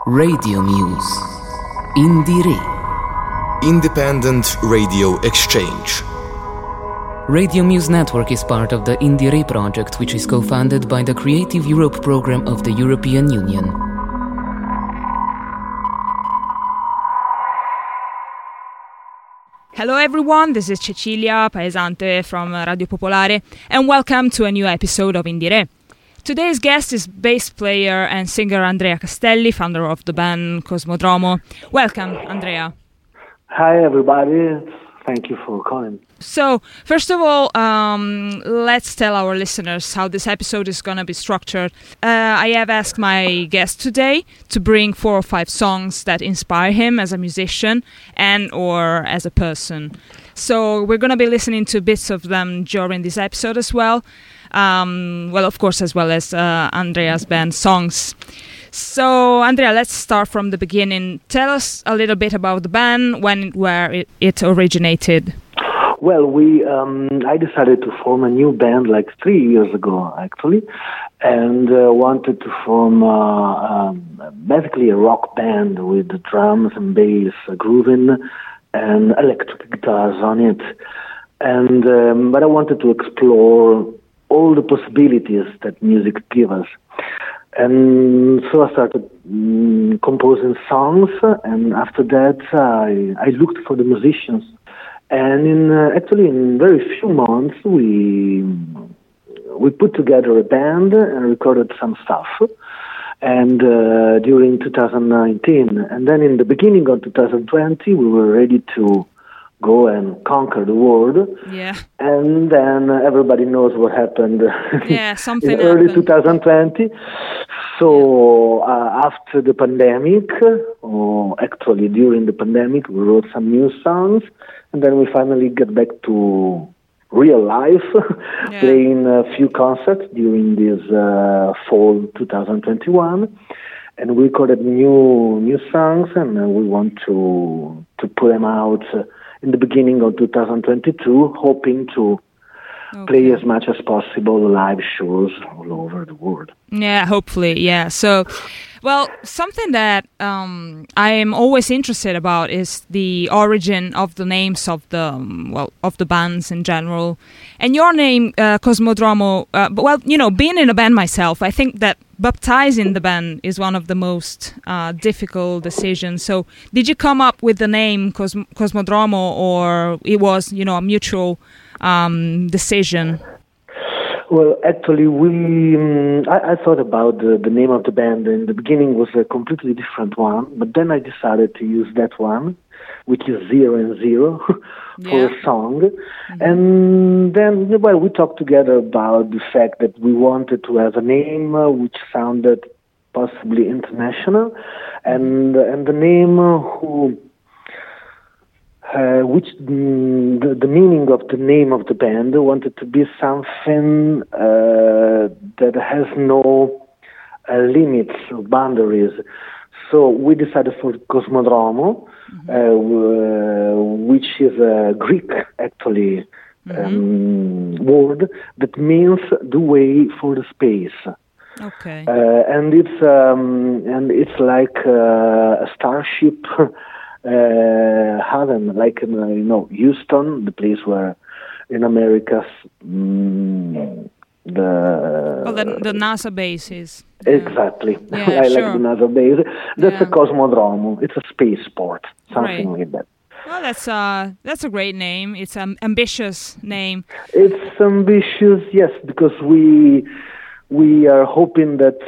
Radio Muse. Indire. Independent Radio Exchange. Radio Muse Network is part of the Indire project, which is co-funded by the Creative Europe program of the European Union. Hello everyone, this is Cecilia Paesante from Radio Popolare, and welcome to a new episode of Indire. Today's guest is bass player and singer Andrea Castelli, founder of the band Cosmodromo. Welcome, Andrea. Hi everybody, thank you for calling. So, first of all, let's tell our listeners how this episode is going to be structured. I have asked my guest today to bring 4 or 5 songs that inspire him as a musician and or as a person. So, we're going to be listening to bits of them during this episode as well. Of course, as well as Andrea's band songs. So, Andrea, let's start from the beginning. Tell us a little bit about the band, where it originated. Well, I decided to form a new band like 3 years ago, actually, and wanted to form basically a rock band with drums and bass, grooving, and electric guitars on it. And but I wanted to explore all the possibilities that music gives us. And so I started composing songs, and after that I looked for the musicians. And in very few months we put together a band and recorded some stuff. And during 2019, and then in the beginning of 2020, we were ready to go and conquer the world. Yeah. And then everybody knows what happened. Yeah, something in early happened. 2020. So after the pandemic, or actually during the pandemic, we wrote some new songs, and then we finally get back to real life, playing a few concerts during this fall 2021, and we recorded new songs, and we want to put them out in the beginning of 2022, hoping to play as much as possible live shows all over the world. Yeah, hopefully, yeah. So, well, something that I am always interested about is the origin of the names of the bands in general. And your name, Cosmodromo, being in a band myself, I think that baptizing the band is one of the most difficult decisions. So, did you come up with the name Cosmodromo, or it was, a mutual decision? Well, actually, I thought about the name of the band. In the beginning was a completely different one, but then I decided to use that one, which is 0 and 0, for a song. Mm-hmm. And then, we talked together about the fact that we wanted to have a name which sounded possibly international, and the name the meaning of the name of the band wanted to be something that has no limits or boundaries. So we decided for Cosmodromo, which is a Greek actually word that means the way for the space. Okay. And it's like a starship. Heaven, like Houston, the place where in America the NASA base is. Exactly. Yeah, I sure. like the NASA base. That's a Cosmodromo. It's a spaceport, something like that. Well, that's a great name. It's an ambitious name. It's ambitious, yes, because we are hoping that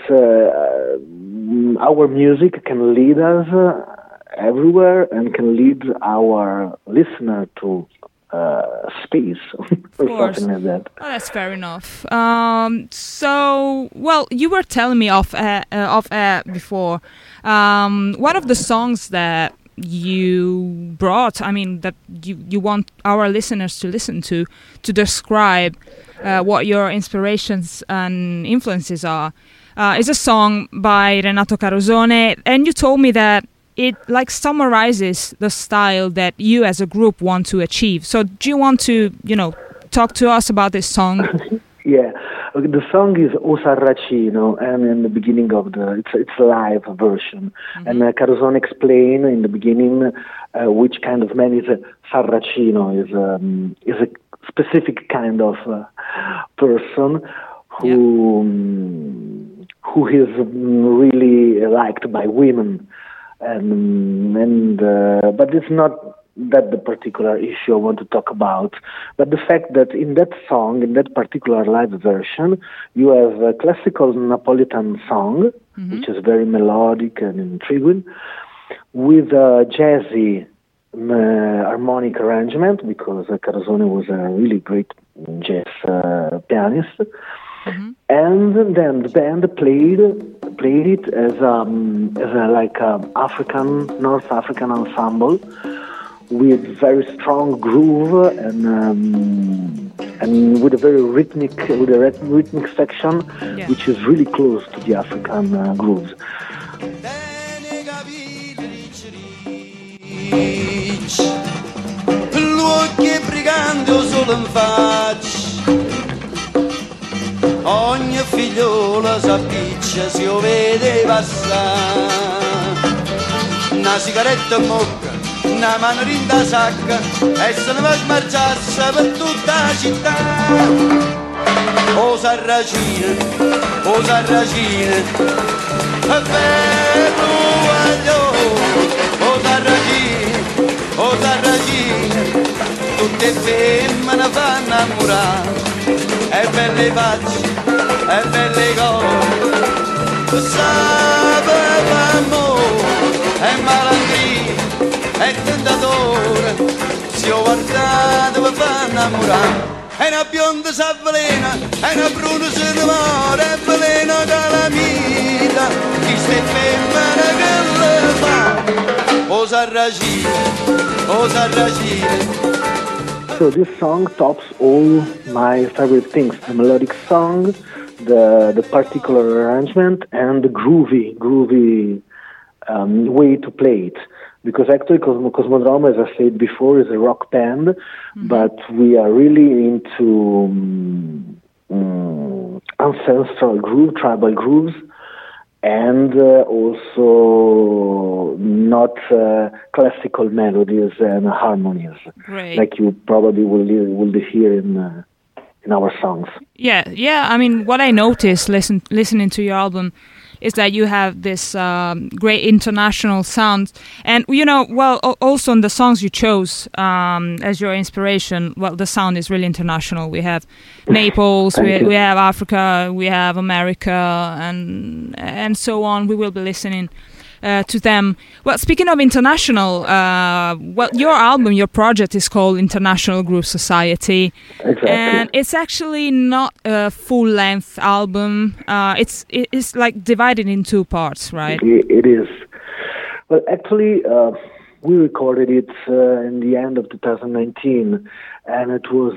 our music can lead us everywhere and can lead our listener to space or something like that. Oh, that's fair enough. You were telling me off before, one of the songs that you brought, that you want our listeners to listen to describe what your inspirations and influences are, is a song by Renato Carosone, and you told me that it summarizes the style that you as a group want to achieve. So do you want to, talk to us about this song? Yeah. The song is O Sarracino, and in the beginning of it's a live version, and Carosone explain in the beginning which kind of man is a Sarracino. Is a specific kind of person who is really liked by women, but it's not that the particular issue I want to talk about, but the fact that in that song, in that particular live version, you have a classical Napolitan song, which is very melodic and intriguing, with a jazzy harmonic arrangement, because Carosone was a really great jazz pianist, and then the band played it as a North African ensemble, with very strong groove and with a very rhythmic section, which is really close to the African grooves. Ogni figliola s'appiccia, si lo vede passare, una sigaretta in bocca, una mano in da sacca, e se ne va a smarciarsi per tutta la città. O Sarracino, è bello o Sarracino, tutte femmine fanno innamorare, e belle facce, e belle cose, sapeva amore, e malandria, e tentatore, si ho guardato per far innamorare. E una bionda s'avvelena, e una bruna si innamora, e veleno calamita, chi ste femmine che le fa. O Sarracino. So this song tops all my favorite things: the melodic song, the particular arrangement, and the groovy way to play it. Because actually Cosmodrome, as I said before, is a rock band, but we are really into ancestral groove, tribal grooves, and also not classical melodies and harmonies, like you probably will hear in our songs. Yeah. I mean, what I noticed listening to your album is that you have this great international sound, and also in the songs you chose as your inspiration. Well, the sound is really international. We have Naples, we have Africa, we have America, and so on. We will be listening to them. Well, speaking of international, your album, your project is called International Groove Society. Exactly. And it's actually not a full-length album. It's like divided in two parts, right? It is. Well, actually, we recorded it in the end of 2019, and it was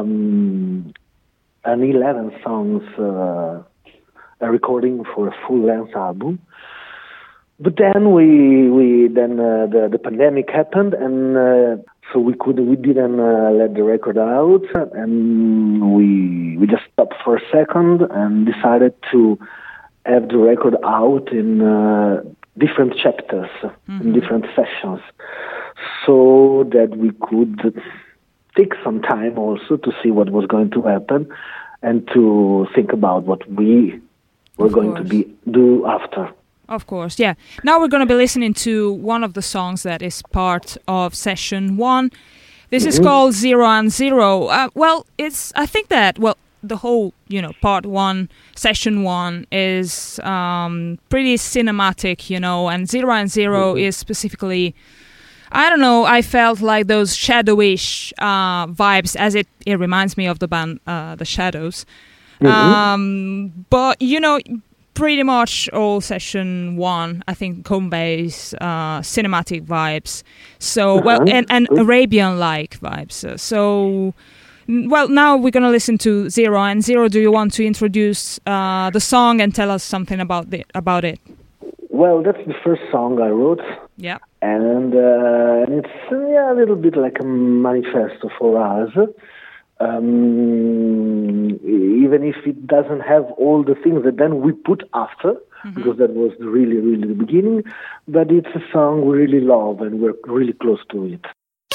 an 11 songs a recording for a full-length album. But then the pandemic happened, and so we didn't let the record out, and we just stopped for a second and decided to have the record out in different chapters, in different sessions, so that we could take some time also to see what was going to happen and to think about what we were going to do after. Of course, yeah. Now we're going to be listening to one of the songs that is part of Session 1. This is called 0 and 0. I think that, the whole, part 1, Session 1 is pretty cinematic, and 0 and 0 is specifically, I don't know, I felt like those shadowish vibes, as it reminds me of the band The Shadows. But, pretty much all Session 1, I think, conveys cinematic vibes. So, and Arabian-like vibes. Now we're going to listen to 0 and 0. Do you want to introduce the song and tell us something about it? Well, that's the first song I wrote. Yeah. And it's a little bit like a manifesto for us. even if it doesn't have all the things that then we put after, because that was really, really the beginning. But it's a song we really love, and we're really close to it.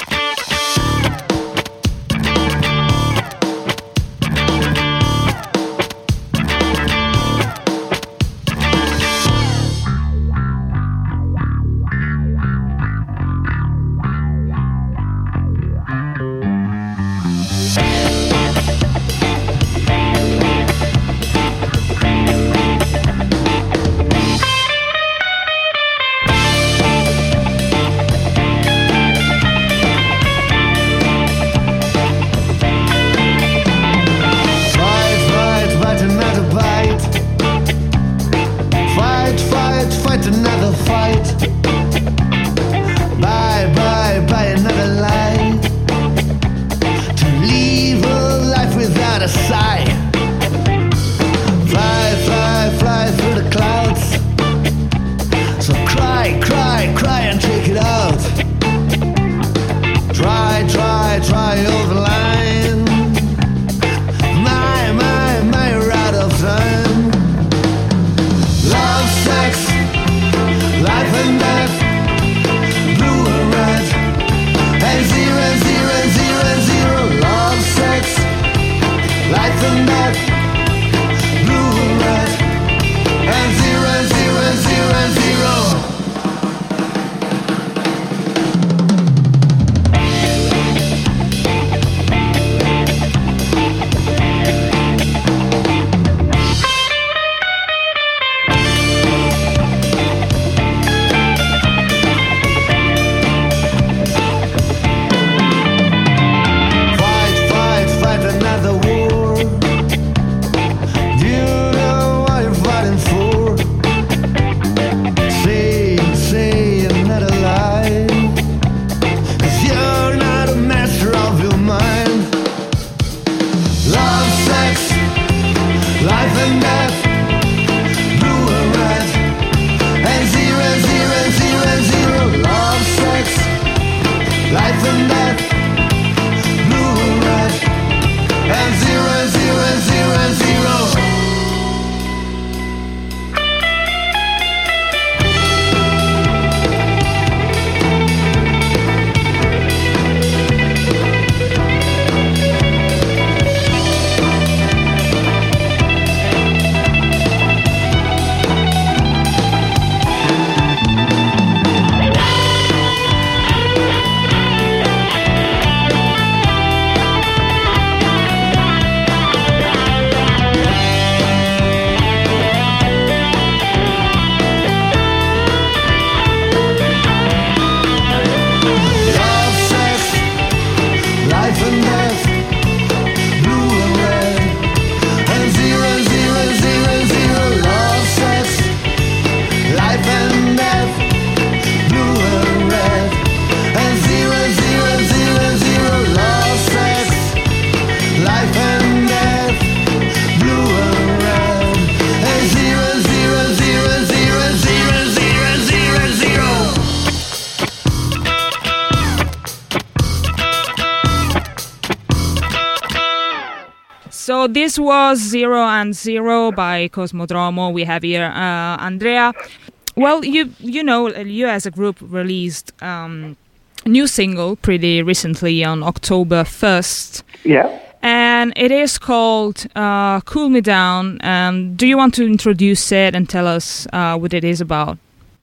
So this was 0 and 0 by Cosmodromo. We have here Andrea. Well, you know, you as a group released a new single pretty recently on October 1st. Yeah. And it is called Cool Me Down. Do you want to introduce it and tell us what it is about?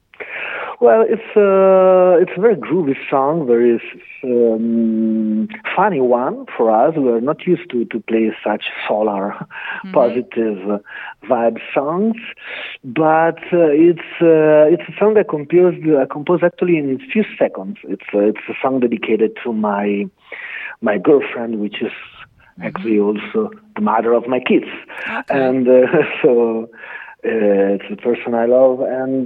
Well, it's a very groovy song, very funny one for us. We are not used to play such solar, positive vibe songs, but it's a song I composed actually in a few seconds. It's a song dedicated to my girlfriend, which is actually also the mother of my kids, and so. It's a person I love, and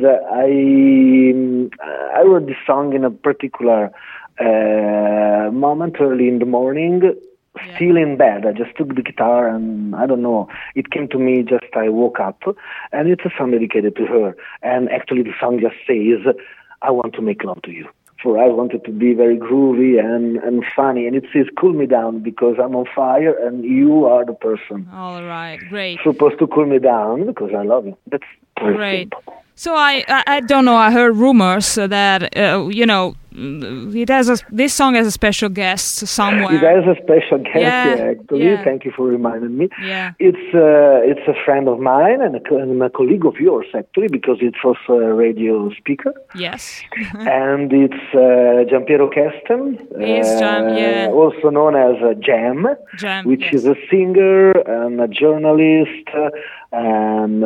I wrote this song in a particular moment early in the morning, still in bed. I just took the guitar, and I don't know, it came to me just I woke up, and it's a song dedicated to her. And actually the song just says, I want to make love to you. for I wanted to be very groovy and funny. And it says, cool me down because I'm on fire and you are the person. All right, great. Supposed to cool me down because I love you. That's very great. simple. So I don't know. I heard rumors that this song has a special guest somewhere. It has a special guest, actually. Yeah. Thank you for reminding me. Yeah. It's a friend of mine and a colleague of yours, actually, because it's also a radio speaker. Yes. And it's Giampiero Kesten, also known as Jam, which is a singer and a journalist and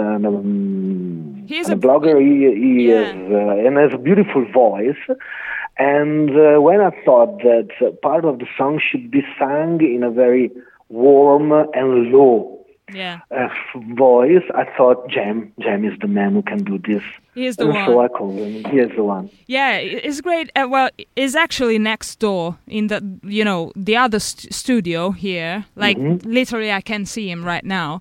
he's a blogger. He is, and has a beautiful voice. And when I thought that part of the song should be sung in a very warm and low voice, I thought Jam is the man who can do this. He is the one. So I called him. He is the one. Yeah, it's great. Well, it's actually next door in the the other studio here. Like literally, I can see him right now.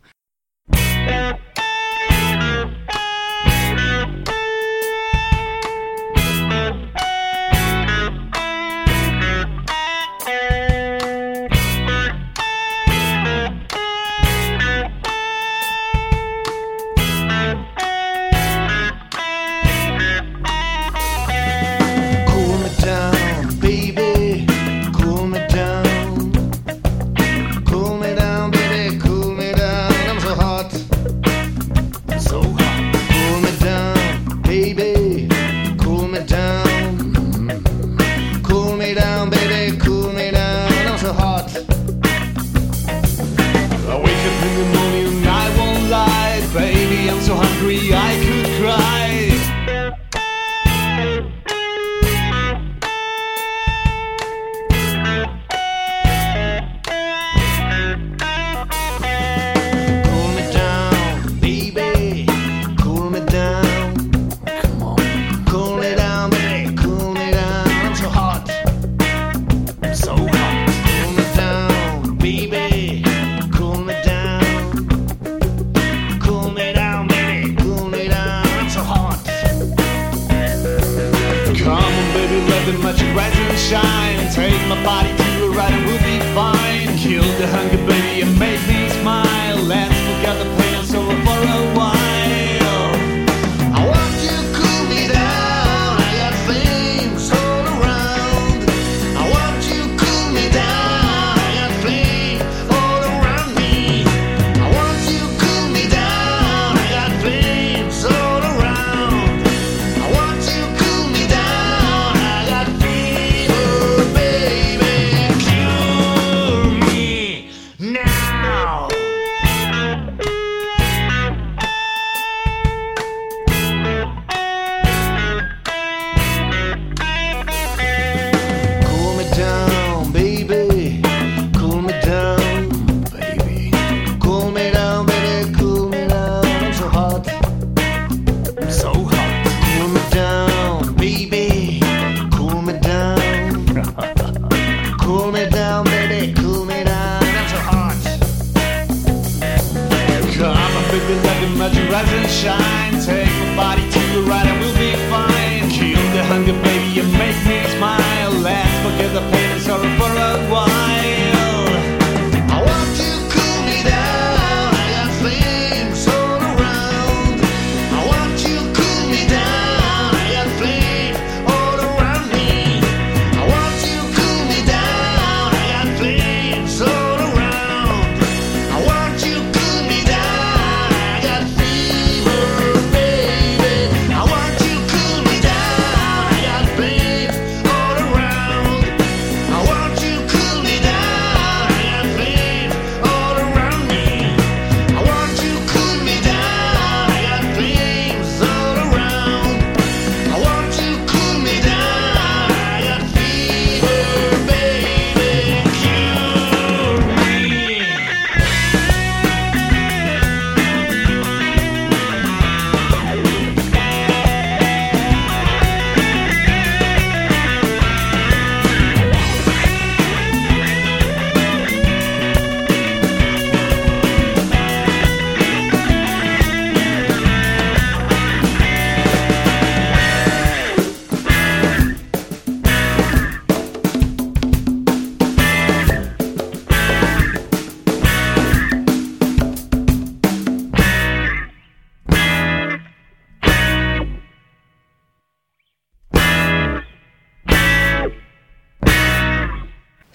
Baby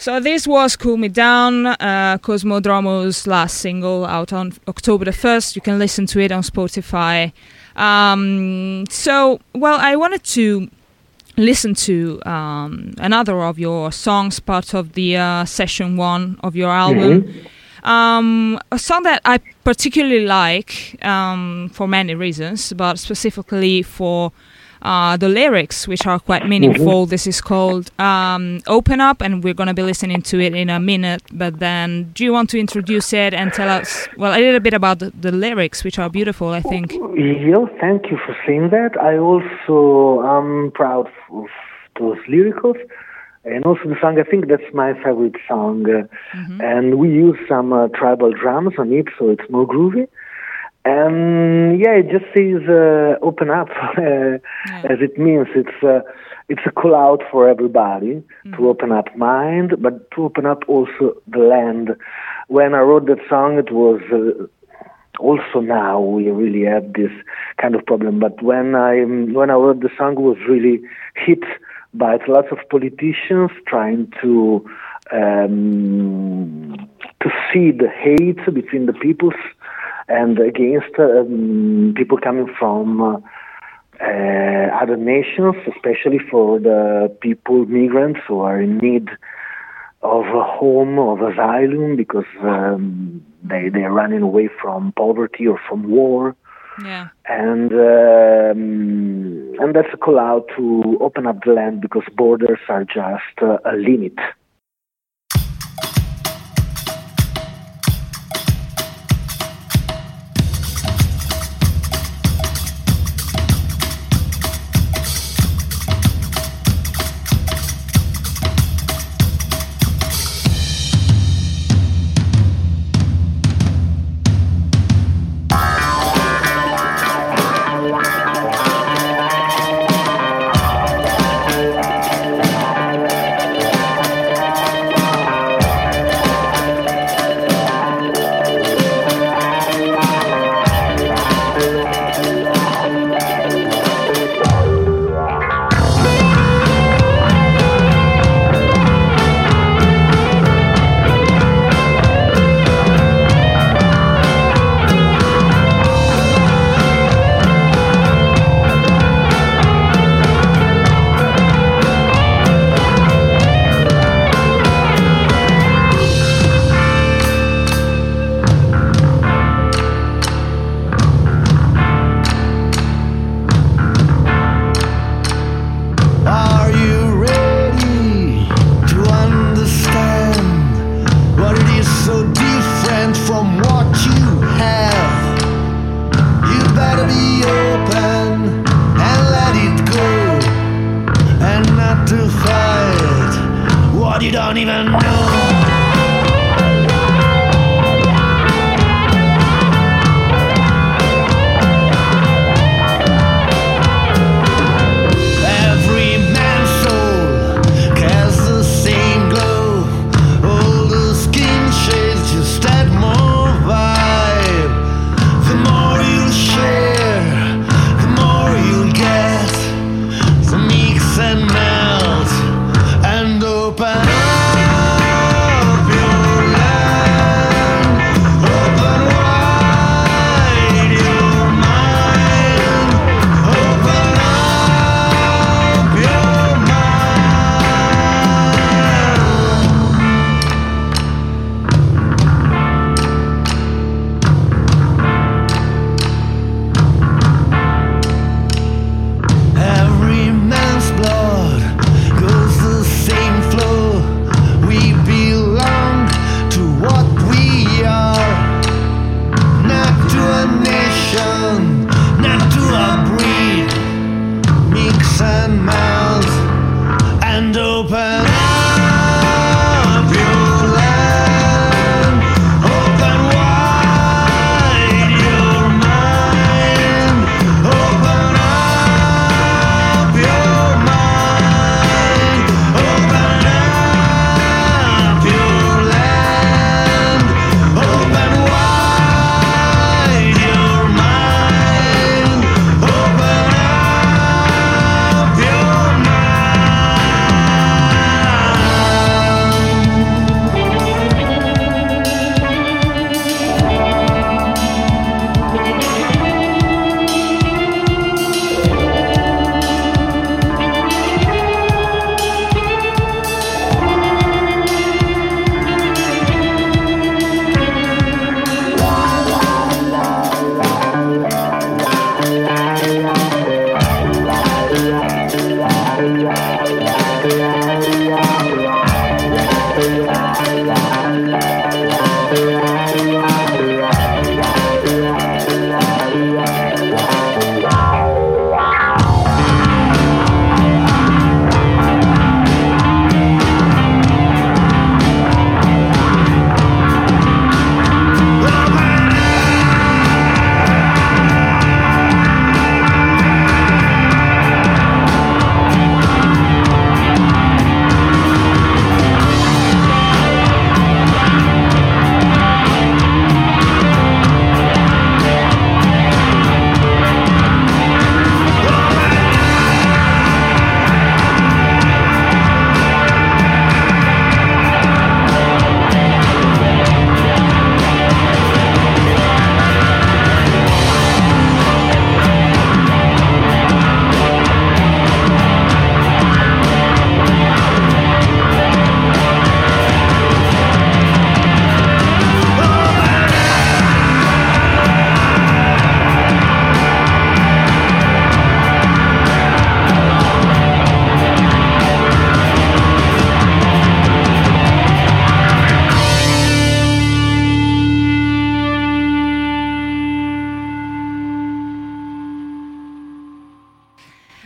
So this was Cool Me Down, Cosmodromo's last single, out on October the 1st. You can listen to it on Spotify. I wanted to listen to another of your songs, part of the session 1 of your album. A song that I particularly like for many reasons, but specifically for the lyrics, which are quite meaningful. This is called Open Up, and we're going to be listening to it in a minute. But then, do you want to introduce it and tell us, well, a little bit about the lyrics, which are beautiful, I think? Yeah, thank you for saying that. I also am proud of those lyricals. And also the song, I think that's my favorite song. And we use some tribal drums on it, so it's more groovy. And yeah, it just says open up, as it means. It's a call out for everybody to open up mind, but to open up also the land. When I wrote that song, it was also now we really have this kind of problem. But when I wrote the song, it was really hit by lots of politicians trying to see the hate between the peoples and against people coming from other nations, especially for the people, migrants who are in need of a home, of asylum, because they're running away from poverty or from war. Yeah. And that's a call out to open up the land, because borders are just a limit.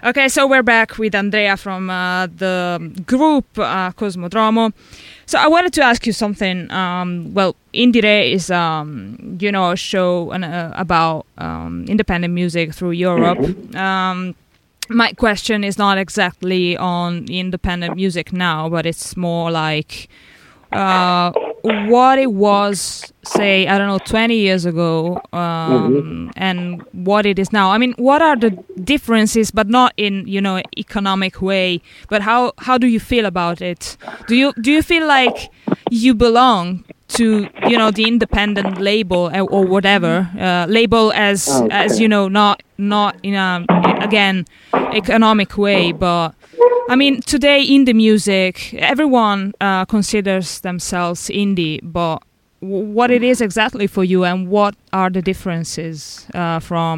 Okay, so we're back with Andrea from the group Cosmodromo. So I wanted to ask you something. Well, Indire is, a show about independent music through Europe. My question is not exactly on independent music now, but it's more like what it was, say, 20 years ago, and what it is now. I mean, what are the differences, but not in, economic way, but how do you feel about it? Do you feel like you belong to, the independent label or whatever, label as not in a, again, economic way, but I mean, today indie music, everyone considers themselves indie, but what it is exactly for you and what are the differences from,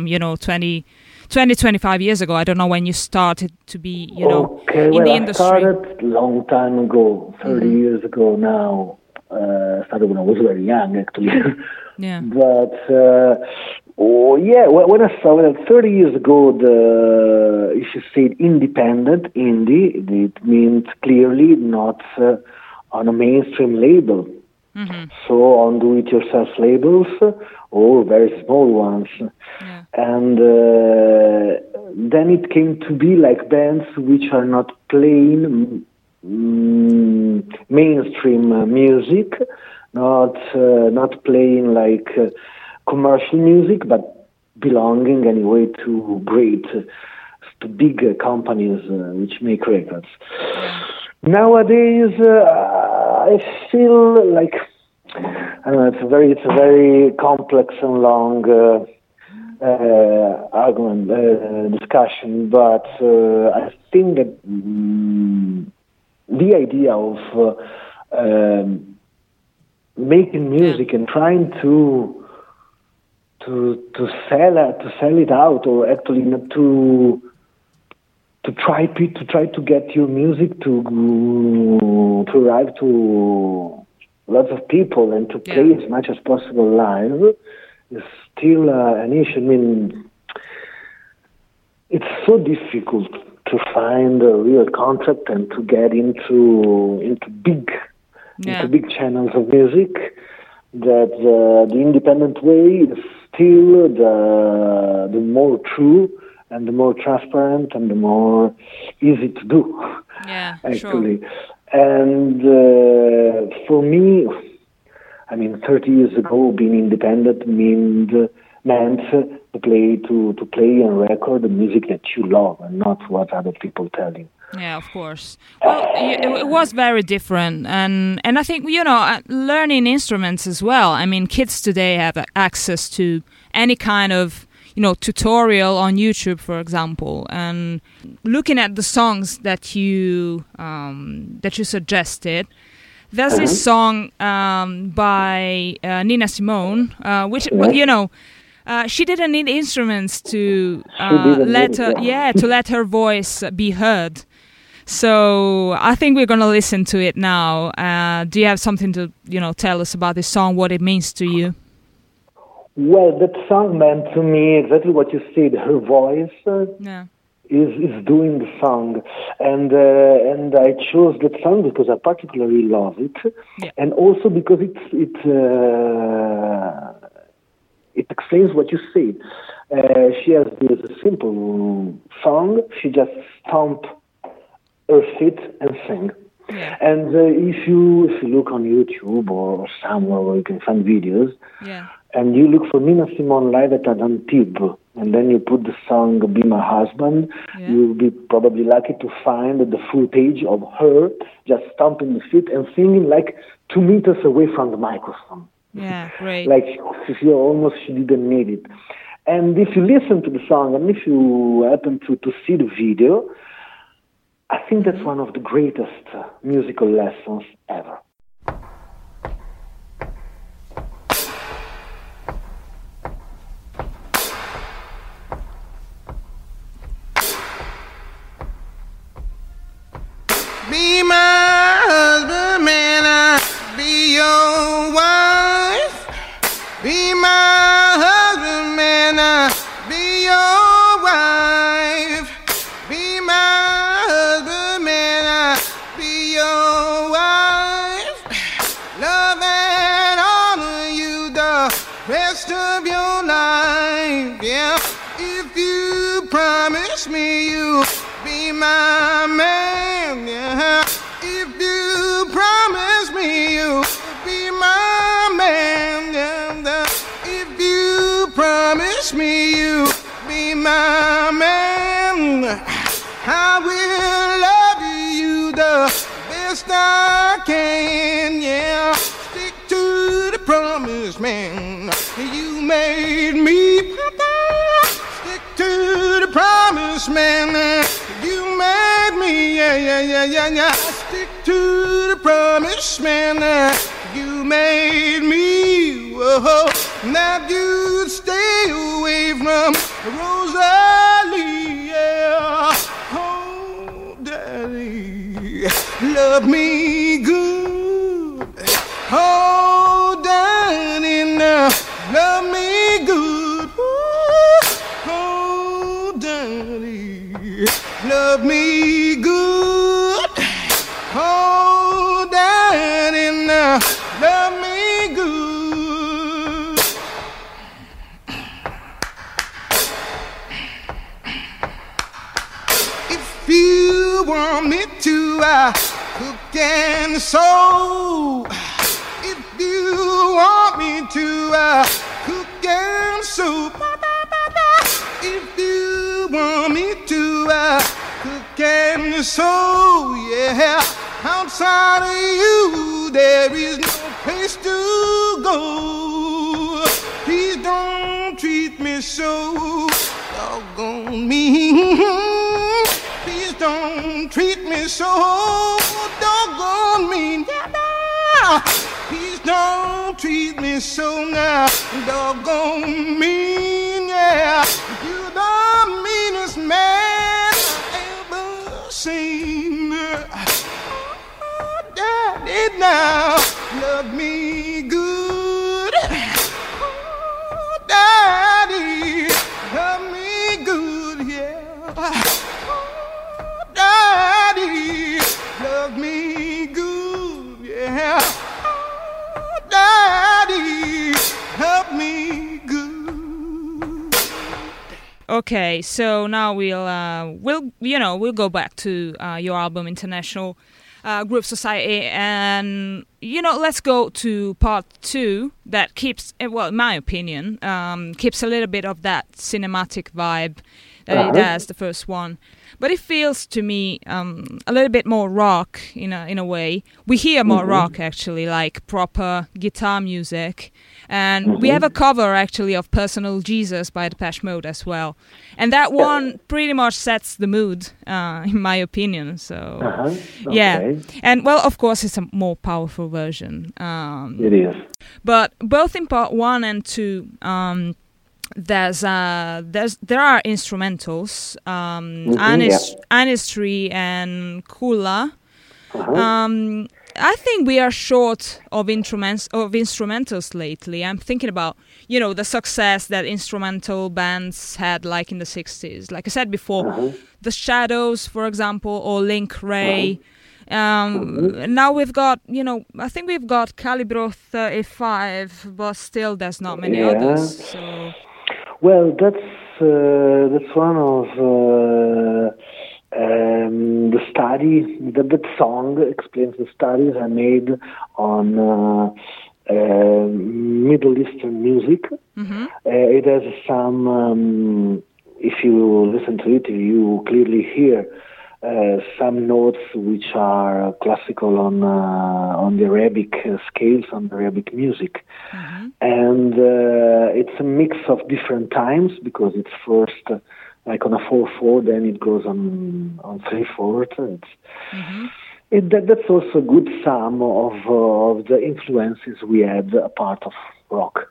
25 years ago? I don't know when you started to be, in the industry. I started a long time ago, 30 years ago now. I started when I was very young, actually. Yeah. But, when I started 30 years ago, if you say independent, indie, it means clearly not on a mainstream label. So on do-it-yourself labels or very small ones. Yeah. And then it came to be like bands which are not playing mainstream music, not playing like commercial music, but belonging anyway to big companies which make records. Nowadays, I feel like I don't know. It's a very complex and long argument discussion, but I think that the idea of making music and trying to sell it out, or actually not to try to get your music to arrive to lots of people and to play as much as possible live is still an issue. I mean, it's so difficult to find a real contract and to get into big channels of music, that the independent way is still the more true and the more transparent and the more easy to do. Yeah, actually. Sure. And for me, I mean, 30 years ago, being independent meant to play and record the music that you love and not what other people tell you. Yeah, of course. Well, it was very different, and I think learning instruments as well. I mean, kids today have access to any kind of tutorial on YouTube, for example, and looking at the songs that you suggested. There's this song by Nina Simone, which she didn't need instruments to let her voice be heard. So I think we're going to listen to it now. Do you have something to tell us about this song, what it means to you? Well, that song meant to me exactly what you said. Her voice is doing the song, and I chose that song because I particularly love it, and also because it explains what you said. She has this simple song. She just stomp her feet and sing. Yeah. And if you look on YouTube or somewhere where you can find videos, and you look for Nina Simone live at Antibes, and then you put the song "Be My Husband," you'll be probably lucky to find the footage of her just stomping the feet and singing like 2 meters away from the microphone. Yeah, great. Like she didn't need it. And if you listen to the song and if you happen to see the video, I think that's one of the greatest musical lessons ever. Be my husband, man, I'll be your wife. Be my husband, man, I'll be your wife. Be promise me you'll be my man, yeah. If you promise me you'll be my man, yeah. If you promise me you'll be my man, I will love you the best I can, yeah. Stick to the promise, man. You made me. Stick to the promise, man. You made me, yeah. Stick to the promise, man. You made me. Whoa. Now you stay away from Rosalie, yeah. Oh, daddy, love me good. Oh, daddy, now love me good. Oh, daddy, love me good. Oh, daddy, now love me good. If you want me to, cook and sew. If you want me to, cook and sew. If you want me to, cook and sew, yeah. Outside of you, there is no place to go. Please don't treat me so doggone mean. Please don't treat me so doggone mean. Yeah. Please don't treat me so now doggone mean. Yeah. You're the meanest man I ever seen. Oh, daddy, now love me good. Oh, daddy, love me good, yeah. Oh, daddy, love me good, yeah. Oh, daddy, love me good. Okay, so now we'll go back to your album International Groove Society, and let's go to part 2 that keeps, well, in my opinion, keeps a little bit of that cinematic vibe that it has, the first one, but it feels to me a little bit more rock in a way. We hear more rock actually, like proper guitar music. And we have a cover, actually, of Personal Jesus by Depeche Mode as well. And that one pretty much sets the mood, in my opinion. So, yeah. And, well, of course, it's a more powerful version. It is. But both in part 1 and 2, there are instrumentals, Anistry and Kula. I think we are short of instrumentals lately. I'm thinking about, the success that instrumental bands had, like in the 60s. Like I said before, The Shadows, for example, or Link Ray. Now we've got, I think we've got Calibro 35, but still there's not many others. So. Well, that's one of the study. That song explains the studies I made on Middle Eastern music. It has some. If you listen to it, you clearly hear some notes which are classical on the Arabic scales, on the Arabic music, and it's a mix of different times, because it's first like on a 4/4, then it goes on 3/4. That's also a good sum of the influences we had, a part of rock.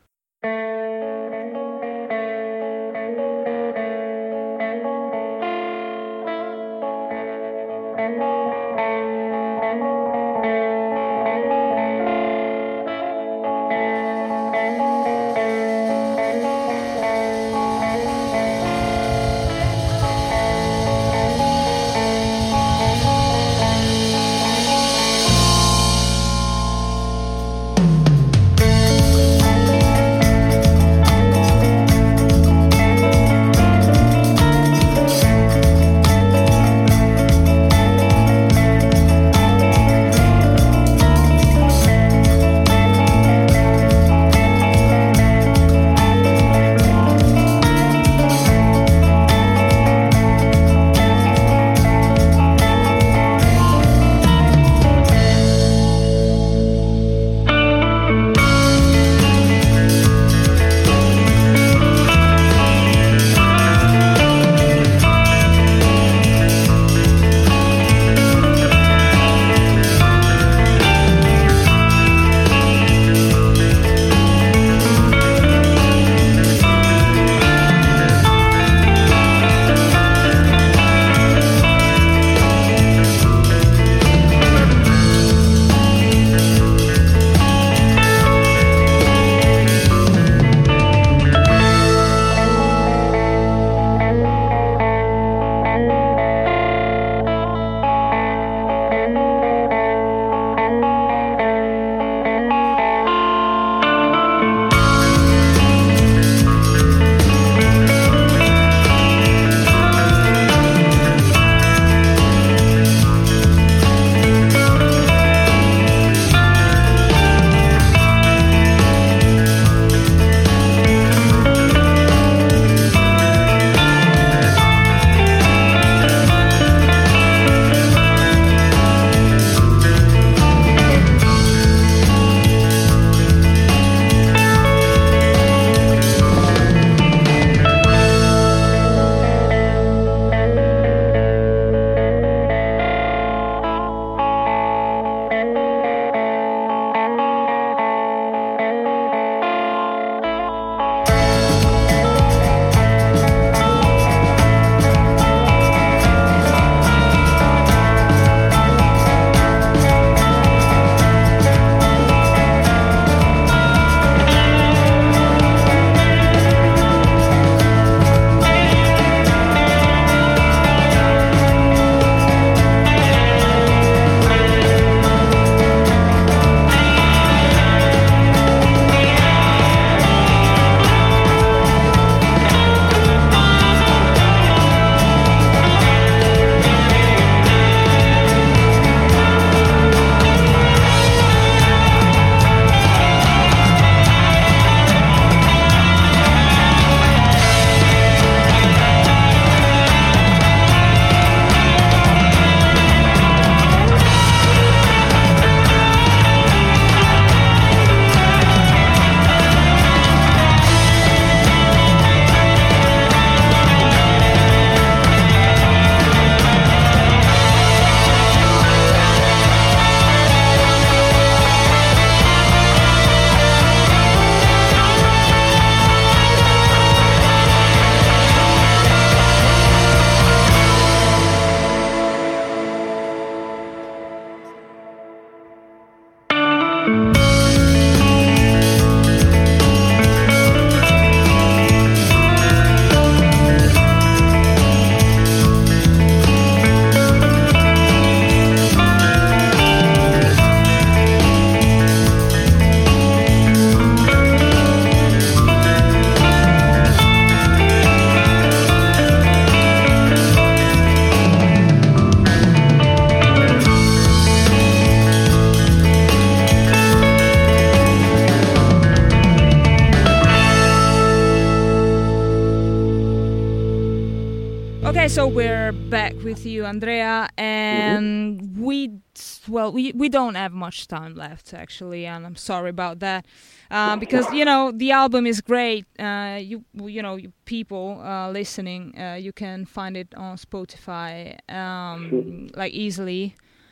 Okay, so we're back with you, Andrea, and we don't have much time left, actually, and I'm sorry about that, because the album is great. You people listening, you can find it on Spotify, like easily.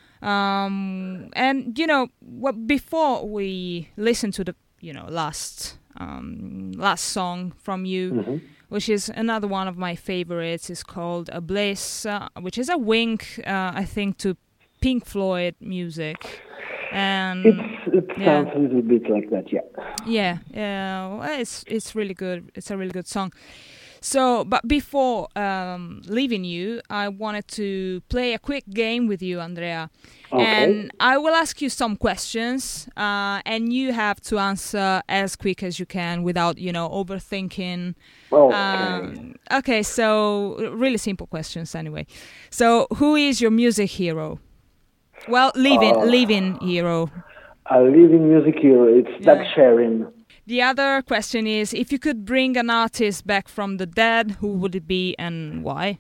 And before we listen to the last song from you, which is another one of my favorites, is called A Bliss, which is a wink, I think, to Pink Floyd music. And it sounds a little bit like that, yeah. Well, it's really good. It's a really good song. So, but before leaving you, I wanted to play a quick game with you, Andrea. Okay. And I will ask you some questions, and you have to answer as quick as you can without, overthinking. Okay, so really simple questions anyway. So, who is your music hero? Well, living hero. A living music hero, it's Doug Sherin. The other question is, if you could bring an artist back from the dead, who would it be and why?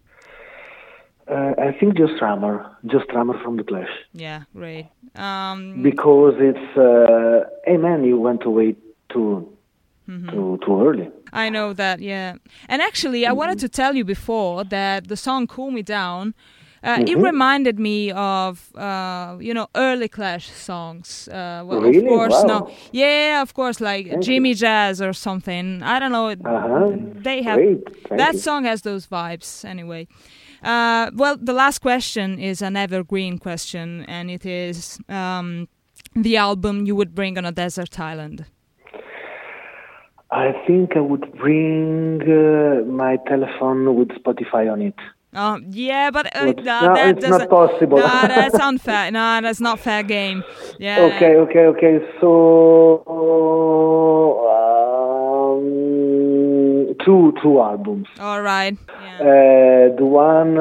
I think Joe Strummer from The Clash. Yeah, great. Because it's, hey man, you went away too early. I know that, yeah. And actually, I wanted to tell you before that the song Cool Me Down, it reminded me of, early Clash songs. Really? Of course, wow. no. Yeah, of course, like Jimmy Jazz or something. I don't know. They have that song has those vibes anyway. Well, the last question is an evergreen question, and it is the album you would bring on a desert island. I think I would bring my telephone with Spotify on it. Yeah, but it's doesn't. not possible. No, that's unfair. No, that's not fair game. Yeah. Okay. So two albums. All right. Yeah. The one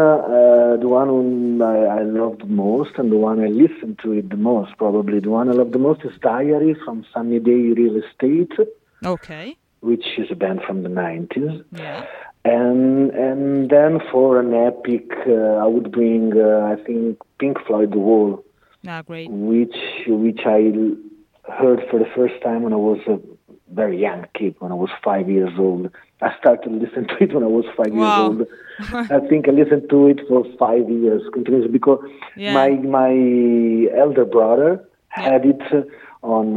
I loved the most, and the one I listened to it the most, probably the one I love the most, is Diary from Sunny Day Real Estate. Okay. Which is a band from the 90s. Yeah. And then for an epic, I would bring, I think, Pink Floyd The Wall. Great. Which I heard for the first time when I was a very young kid, when I was 5 years old. I started listening to it when I was 5 years old. I think I listened to it for 5 years continuously because my elder brother had it on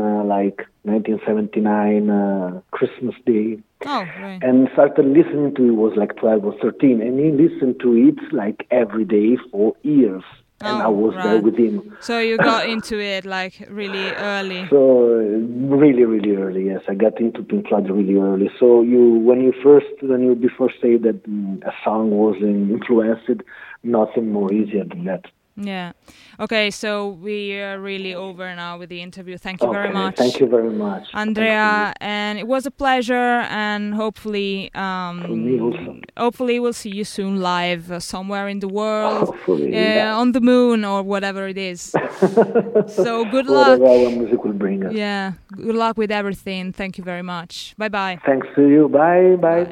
1979 Christmas Day. Oh, right. And started listening to it was like 12 or 13, and he listened to it like every day for years. And I was there with him. So you got into it like really early. So really, really early. Yes, I got into Pink Floyd really early. So when you before say that a song was influenced, nothing more easier than that. Yeah. Okay, so we are really over now with the interview. Thank you very much. Thank you very much, Andrea. And it was a pleasure. And hopefully, hopefully we'll see you soon live somewhere in the world, on the moon or whatever it is. So good luck. Whatever our music will bring us. Yeah. Good luck with everything. Thank you very much. Bye bye. Thanks to you. Bye bye.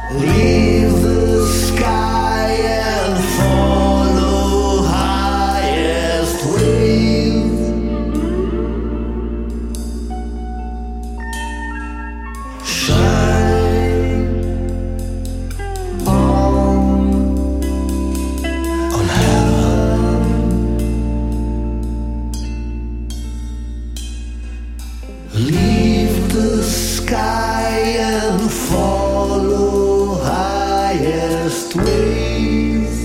Leave the sky and follow highest wave. Shine on heaven. Leave the sky and follow highest waves.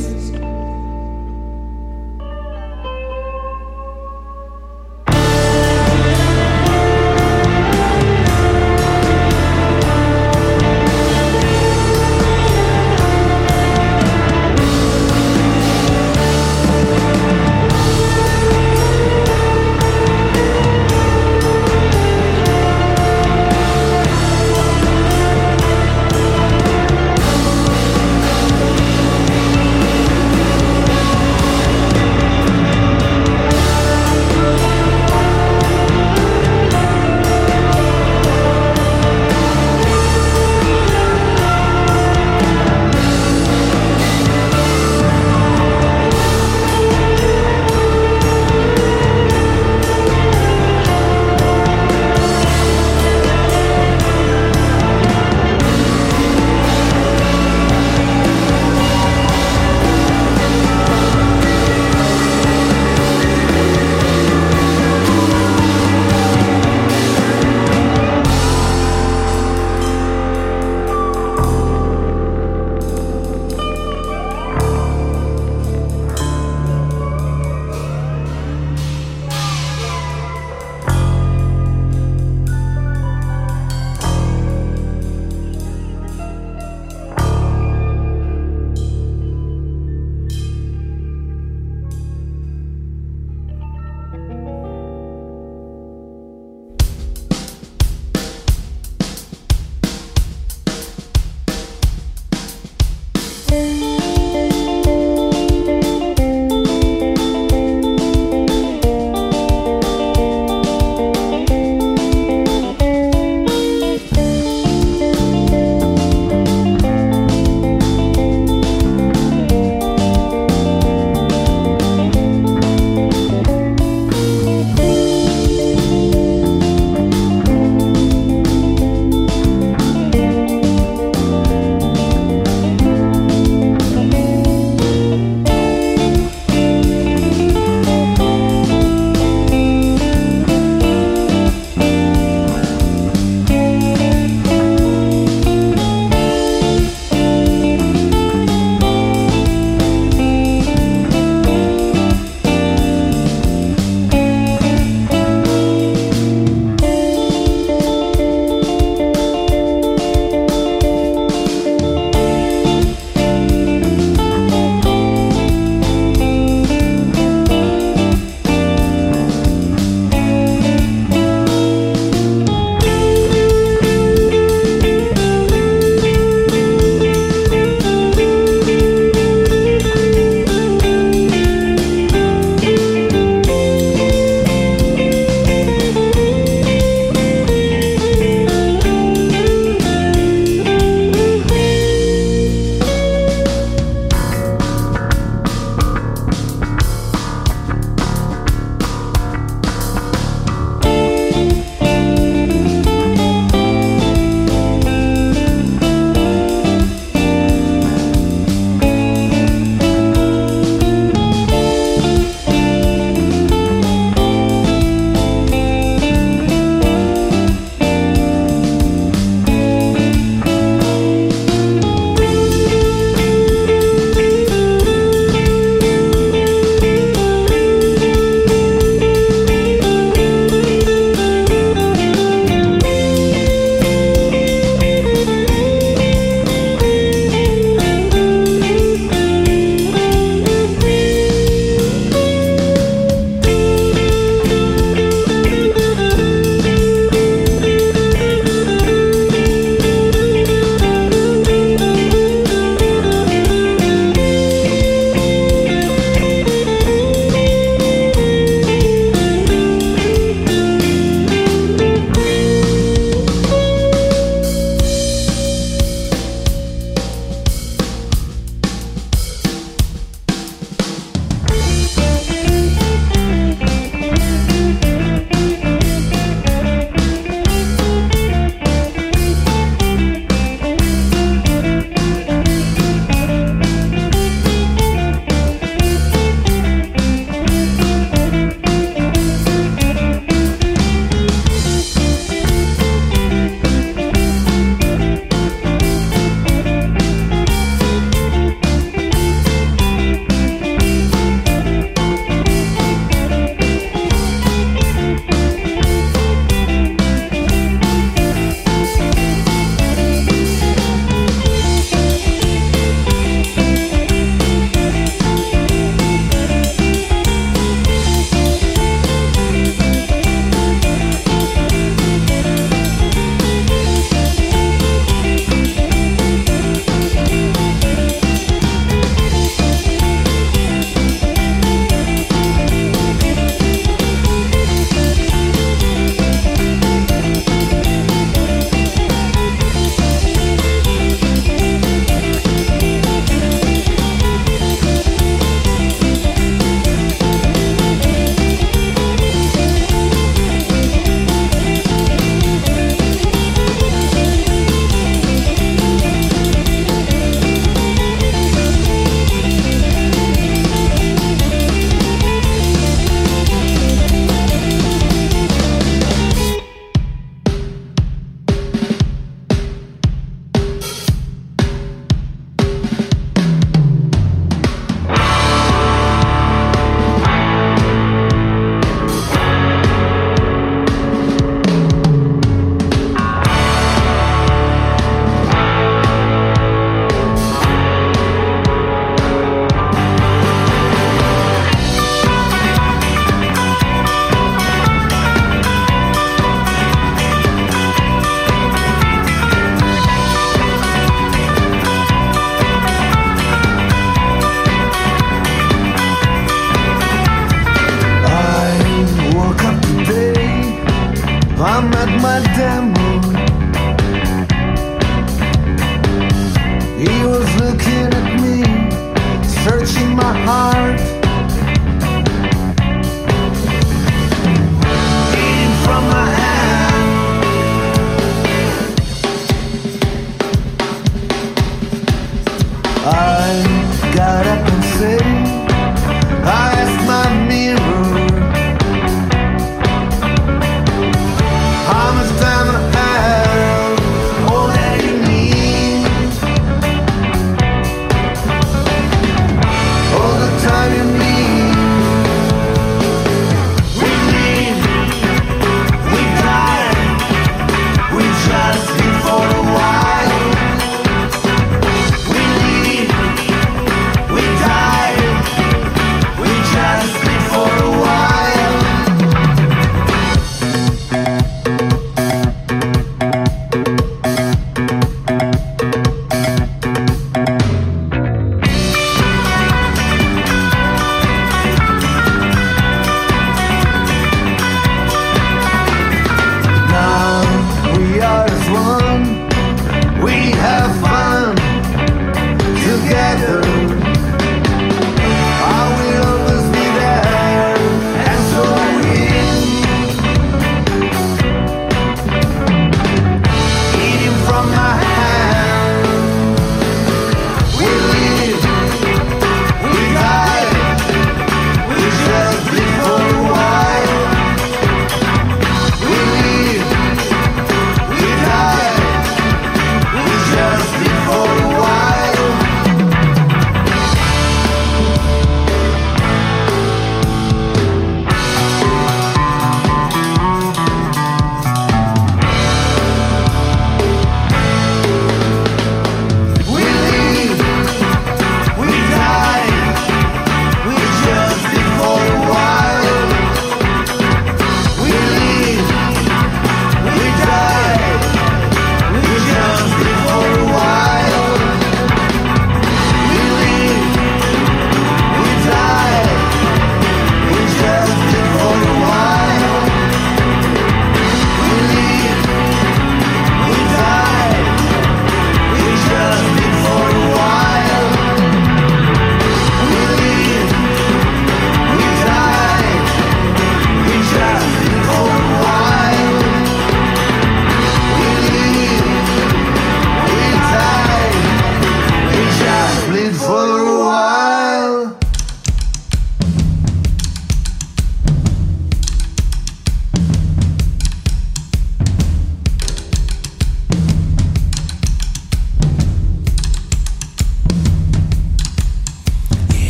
I got up and said, I asked my mirror, how much time I have, all that you need, all the time you need. We live, we die, we just live for a while. We live, we die.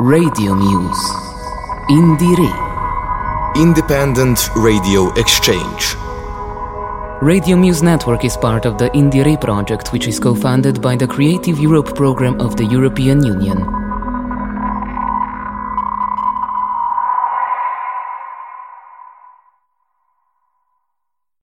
Radio Muse. Indire. Independent Radio Exchange. Radio Muse Network is part of the Indire project, which is co-funded by the Creative Europe program of the European Union.